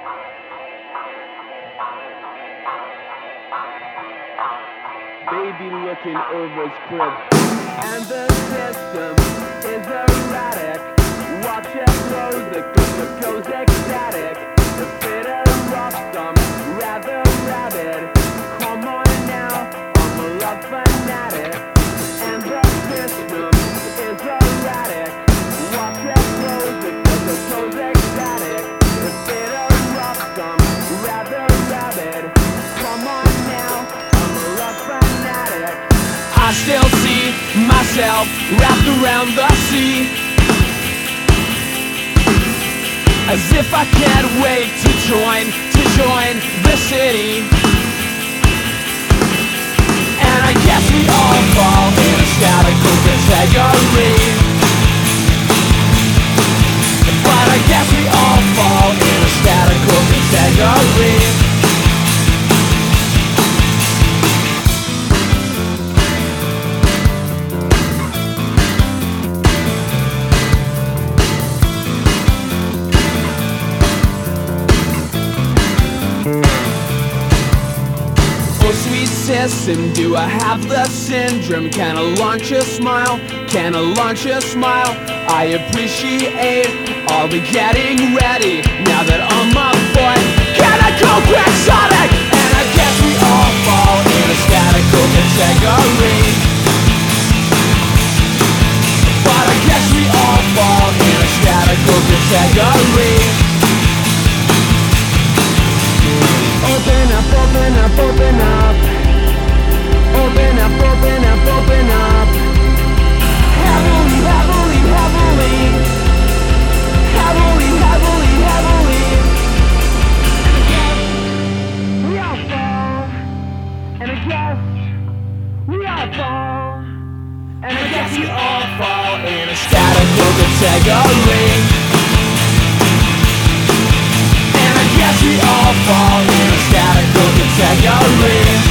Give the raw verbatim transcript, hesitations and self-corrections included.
Baby looking over his crib, and the system is erratic. Watch it close, the cooker goes ecstatic. The bit of rough, some rather rabid. Come on now, I'm a love fanatic, and the system is erratic. Watch it close, the cooker goes ecstatic. The bit of rough, some rather rabid. Come on now, I'm a love fanatic. I still see myself wrapped around the sea, as if I can't wait to join, to join the city. And I guess we all fall in a statical category, but I guess we all fall in a statical category. Oh sweet system, do I have the syndrome? Can I launch a smile? Can I launch a smile? I appreciate all the getting ready. Now that I'm up for it, can I go quixotic? And I guess we all fall in a statical category, but I guess we all fall in a statical category. Open up, open up, open up. Open up, open up, open up. Heavily, heavily, heavily. Heavily, heavily, heavily. We all fall. And I guess we all fall. And I guess we all fall in a statical category. Yes, we all fall in a statical category.